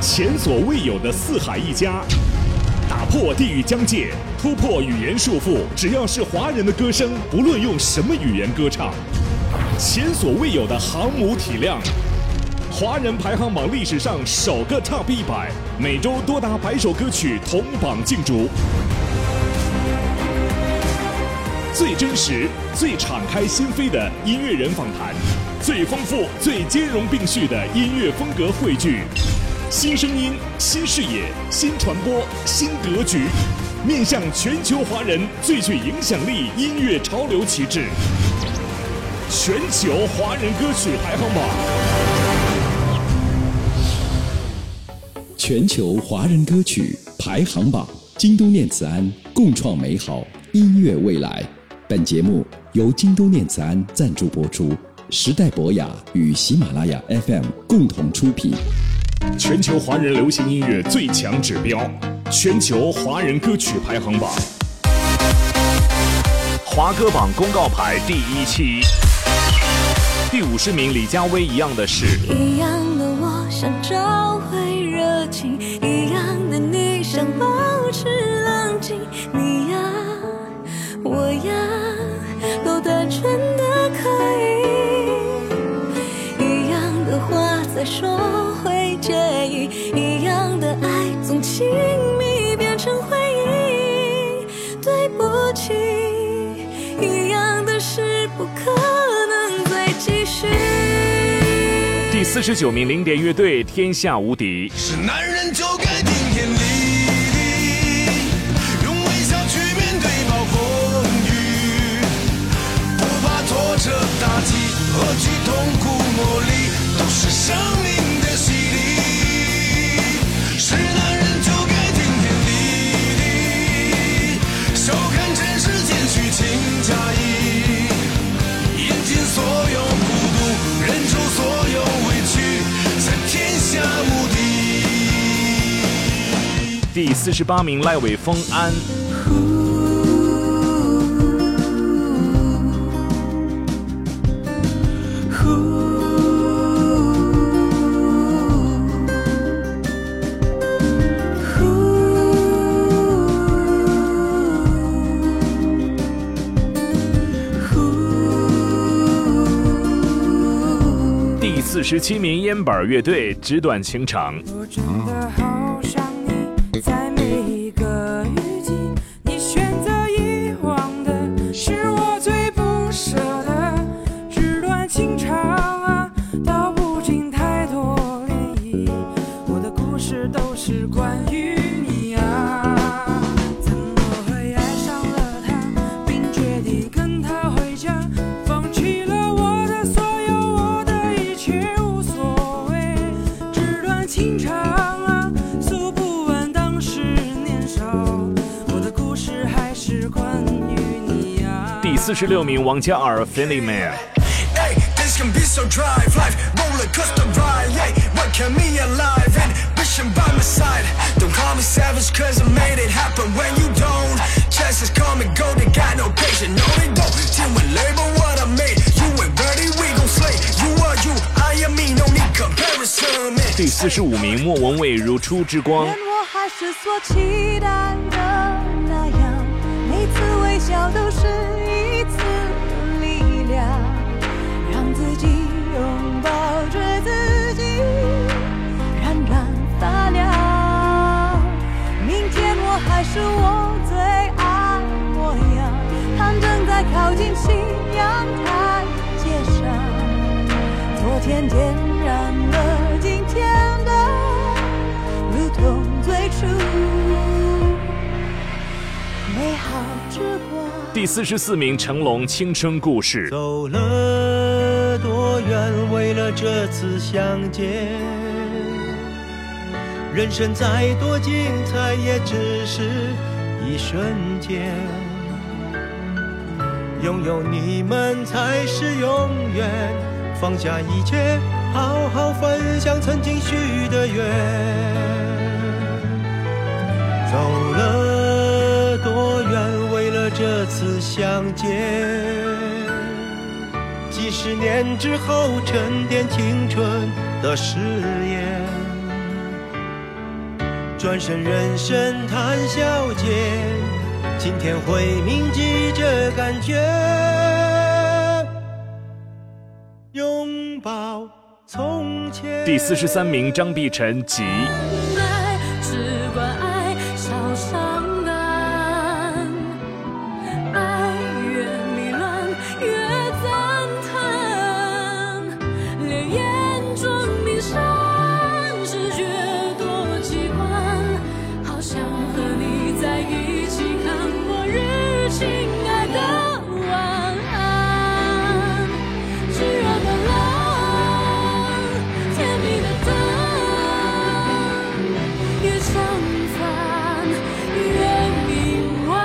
前所未有的四海一家，打破地域疆界，突破语言束缚，只要是华人的歌声，不论用什么语言歌唱。前所未有的航母体量，华人排行榜历史上首个 Top 100，每周多达100首歌曲同榜竞逐。最真实、最敞开心扉的音乐人访谈，最丰富、最兼容并蓄的音乐风格汇聚，新声音、新视野、新传播、新格局，面向全球华人最具影响力音乐潮流旗帜。全球华人歌曲排行榜， 全球华人歌曲排行榜，京都念慈庵共创美好音乐未来。本节目由京都念慈庵赞助播出，时代博雅与喜马拉雅 FM 共同出品。 全球华人流行音乐最强指标，全球华人歌曲排行榜，华歌榜公告牌第1期，第50名李佳薇《一样的事》。 一样的我想找回热情，一样的你想保持冷静，你呀我呀都单纯的可以，一样的话再说会介意，一样的爱总亲密变成回忆，对不起，一样的事不可能再继续。 第49名零点乐队《天下无敌》。 是男人就该顶天立地，用微笑去面对暴风雨，不怕挫折打击，何惧痛苦磨砺，都是生命的洗礼。是男人就该顶天立地，笑看尘世间虚情假意，饮尽所有孤独，忍受所有委屈，才天下无敌。 第48名赖伟峰《安》。第47名烟板乐队《纸短情长》。 我真的好想你，在每一个雨季，你选择遗忘的是我最不舍的，纸短情长啊，道不尽太多涟漪，我的故事都是关于你啊，怎么会爱上了他，并决定跟他回家，放弃了我的所有，我的一切无所谓，纸短情长啊，诉不完当时年少，我的故事还是关于你啊。 第46名王嘉尔《Friendly Man》。 Hey, this can be so dry, life roller coaster ride. Hey, what kept me alive and wishing by my side. Don't call me savage 'cause I made it happen when you don't. Chances come and go, they got no patience. No, they don't. 听闻 label what I made. You ain't ready, we gon' slay. You are you, I am me, no need comparison. 第45名莫文蔚《如初之光》。 愿我还是所期待的那样，每次微笑都是一次力量，让自己拥抱着自己，冉冉发亮。明天我还是我最爱模样，它正在靠近夕阳台阶上，昨天点燃了今天的，如同最初美好之光。 第44名成龙《青春故事》。 走了多远，为了这次相见，人生再多精彩，也只是一瞬间。拥有你们才是永远，放下一切，好好分享曾经许的愿。走了多远，为了这次相见，几十年之后沉淀青春的誓言。 转身人生谈笑间，今天会铭记这感觉，拥抱从前。 第43名张碧晨集。 爱只管爱，少伤感，爱越迷乱越赞叹，烈焰中迷山视觉多奇观，好想和你在一起看末日，亲爱的晚安，炙热的冷，甜蜜的疼，越相反越迷惘。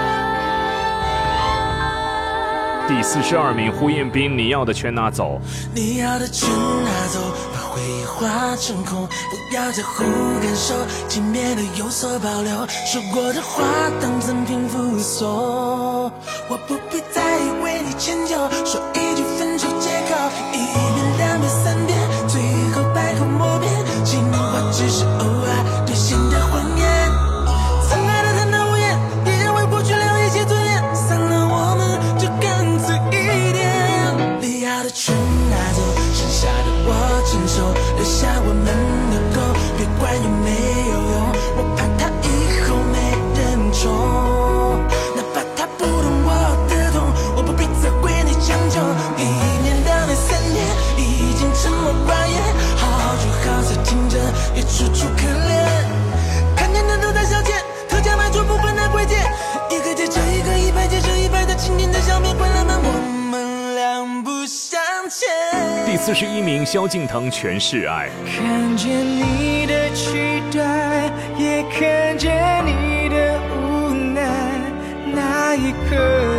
第42名胡彦斌，你要的全拿走。 你要的全拿走，把回忆化成空，不要在乎感受，轻蔑的有所保留，说过的话当赠品附送，我不必再为你迁就，说一句分手借口，一遍两遍三遍，最后百口莫辩，情话只是偶尔兑现的谎言，曾爱的坦荡无言，也认为过去了一些尊严，散了我们就干脆一点，你要的全拿走，剩下的我承受，留下我们的狗，别管有没有用，我怕他以后没人宠，哪怕他不懂我的痛，我不必责怪你将就，一年到那3年已经沉默寡言，好聚好散听着也楚楚可怜，看见的都在消遣，特价买出部分的贵贱，一个接着一个，100接着100的经典的笑面，关了门我们两不相欠。 第41名萧敬腾，全是爱。 看见你的期待，也看见你的无奈，那一刻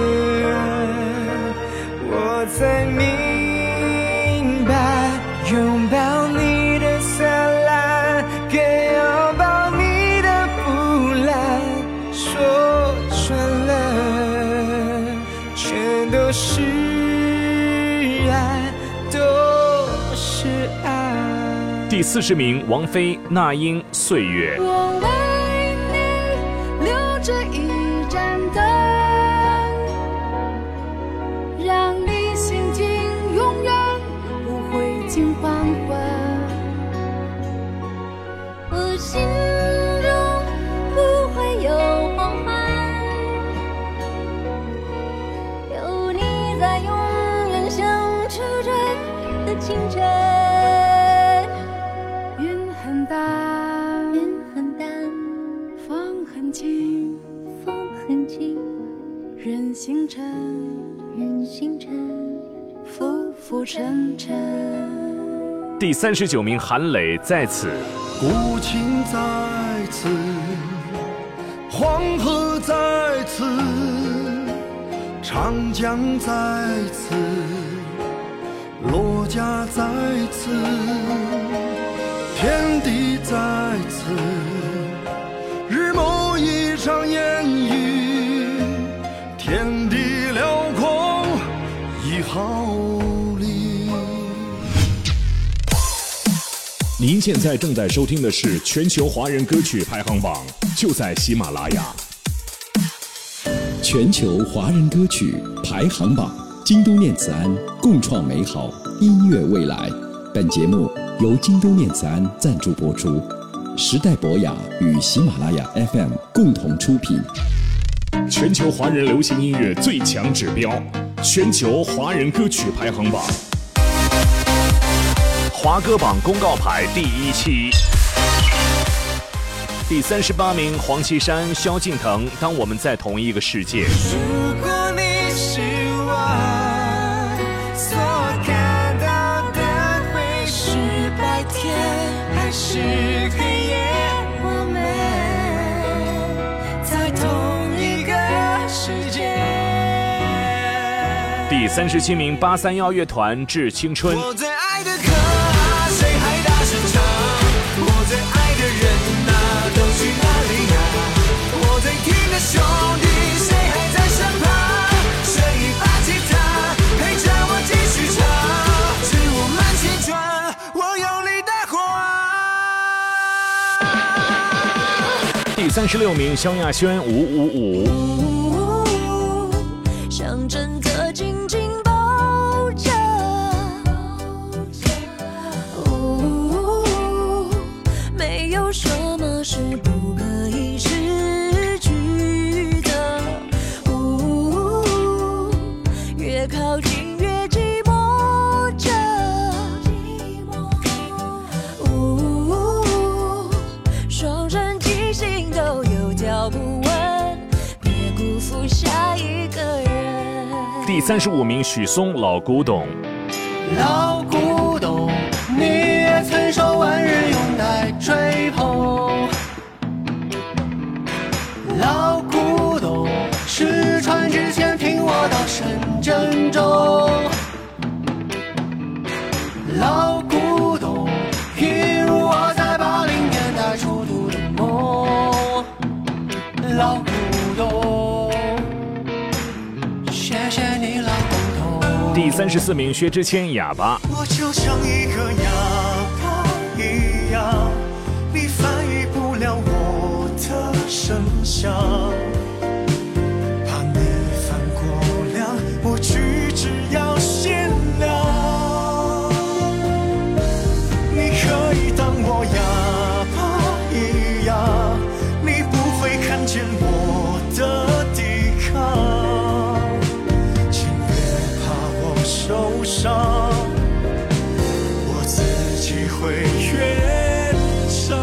我才明白，拥抱你的灿烂，更拥抱你的不懒，说穿了全都是爱，都是爱。 第40名王菲，那英，岁月。 我为你留着一盏灯，让你心境永远不会尽黄昏，我心中不会有黄昏，有你在永远相处着的清晨，云很淡，云很淡，风很轻，风很轻，人星辰，人星辰，浮浮沉沉。 第39名韩磊，在此。 古琴在此，黄河在此，长江在此，罗家在此，天地在此，日暮一场烟雨，天地辽阔一毫厘。 您现在正在收听的是全球华人歌曲排行榜，就在喜马拉雅。 全球华人歌曲排行榜，京都念慈庵共创美好音乐未来。本节目由京都念慈庵赞助播出，时代博雅与喜马拉雅 FM 共同出品。 全球华人流行音乐最强指标，全球华人歌曲排行榜。华歌榜公告牌第1期。第38名黄绮珊、萧敬腾，当我们在同一个世界。 如果你是我，所看到的会是白天还是黑夜，我们在同一个世界。 第37名831乐团致青春。 我最爱的歌谁还大声唱，我最爱的人啊都去哪里啊，我最听的兄弟谁还在身旁，谁把吉他陪着我继续唱，致我们青春，我有你的花。 36名萧亚轩555。 想真的紧紧抱着，没有什么是不可以失去的，越靠近越寂寞着，双人即兴都有脚不稳，别辜负下一个人。 第35名许嵩老古董。 老古董，你也曾受万人拥戴追捧。老古董，失传之前听我道声珍重。老古董，譬如我在80年代初读的梦。老古董，谢谢你老古董。 第34名薛之谦哑巴。 我就像一个哑巴一样，你翻译不了我的声响，怕你犯过量，我举止要限量。你可以当我哑巴一样，你不会看见我的抵抗，请别怕我受伤，我自己会圆场。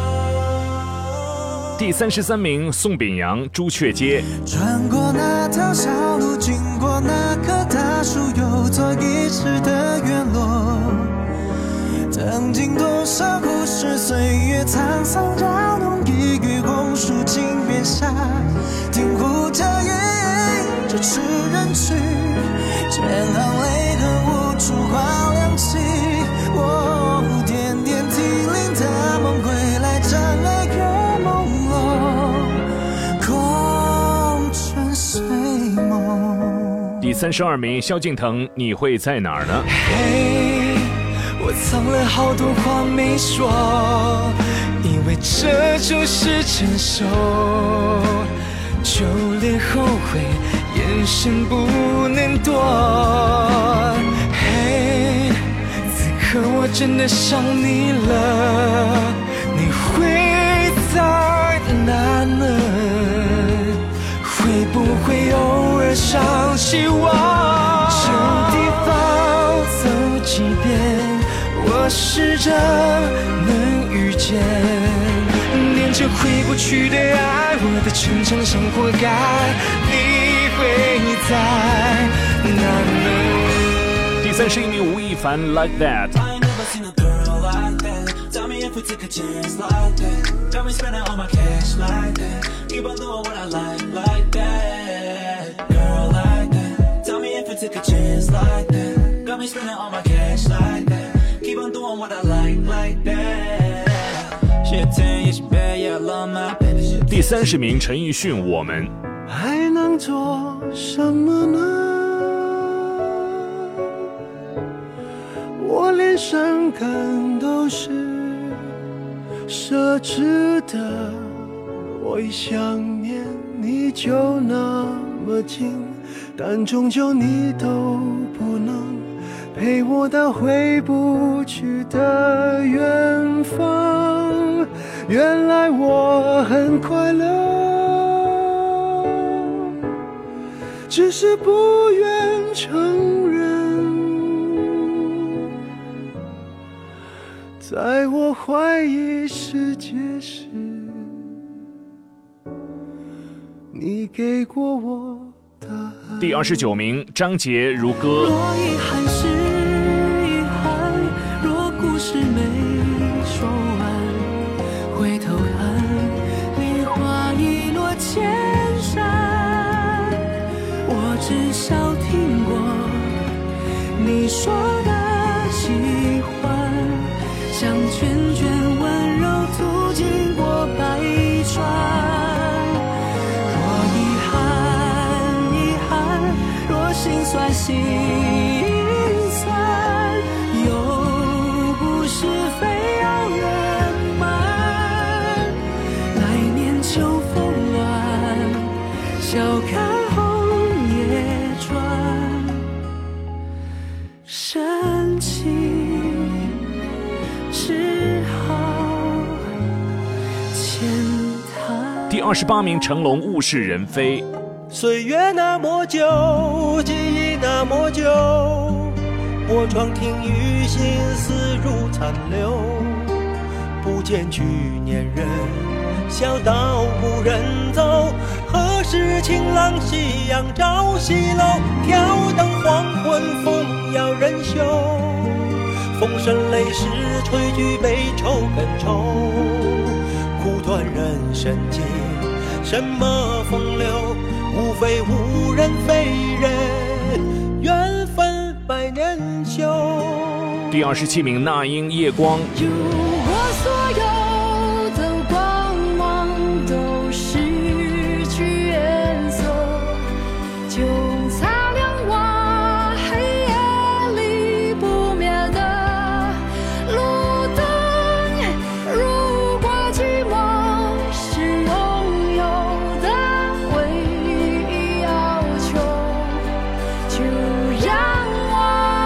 第33名宋秉洋朱雀街。 穿过那条小路，经过那棵大树，有座遗失的院落。曾经多少故事，岁月沧桑扰动，一语红树井边下，听呼叫夜这痴人去，千行泪痕无处话亮起。我点点涕零的梦归来，站爱月朦胧，空春随梦。 第32名萧敬腾你会在哪儿呢？ 嘿，我藏了好多话没说，以为这就是成熟，就连后悔眼神不能躲。嘿，此刻我真的想你了，你会在哪呢？会不会偶尔想起我？这地方走几遍，我试着能遇见，连着回不去的爱，我的成长像活该，你会在哪呢？ 第31名吴亦凡 Like That。 I ain't never seen a girl like that. Tell me if we take a chance like that. Got me spending all my cash like that. Keep on doing what I like that. Girl like that. Tell me if we take a chance like that. Got me spending all my cash like that. Keep on doing what I like that. She a 10, yeah she bad, yeah I love my baby. 第30名陈奕迅我们。 还能做什么呢？我连伤感都是奢侈的，我一想念你就那么近，但终究你都不能陪我到回不去的远方。原来我很快乐，只是不愿承认。在我怀疑世界时，你给过我答案。 第29名张杰如歌。 若遗憾是遗憾，若故事没说完，回头看，梨花已落千山。我至少听过你说的喜欢，像圈圈温柔途经过百川。心酸心酸，又不是非要圆满。来年秋只好牵它。 第28名，成龙《物是人非》。 岁月那么久，记忆那么久，我窗听雨，心思如残留。不见去年人，小道无人走。何时晴朗夕阳照西楼？挑灯黄昏，风摇人袖。风声泪湿，吹举悲愁更愁。苦短人生境，什么风流？无非无人非人，缘分百年修。 第27名，那英《夜光》。 如果所有的光芒都失去颜色，就擦亮我黑夜里不灭的路灯。如果寂寞是拥有的唯一要求，就让我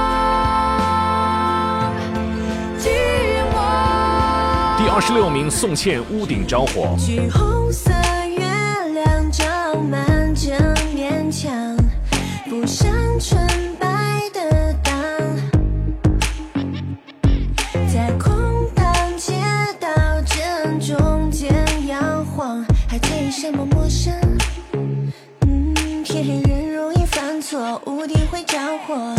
寂寞。 第26名，宋茜《屋顶着火》。 橘红色月亮照满这面墙，不像纯白的当，在空荡街道正中间摇晃，还在意什么陌生？偏人容易犯错，屋顶会着火。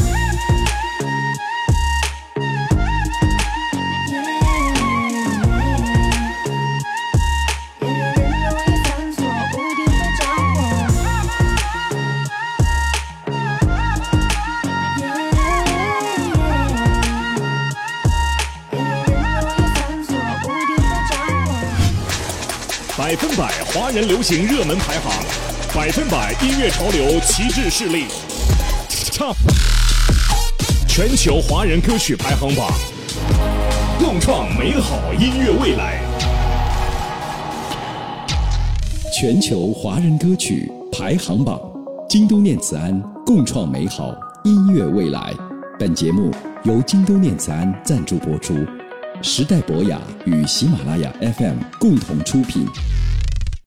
100%华人流行热门排行，100%音乐潮流旗帜势力 ，Top 全球华人歌曲排行榜，共创美好音乐未来。 全球华人歌曲排行榜，京都念慈庵共创美好音乐未来。本节目由京都念慈庵赞助播出，时代博雅与喜马拉雅 FM 共同出品。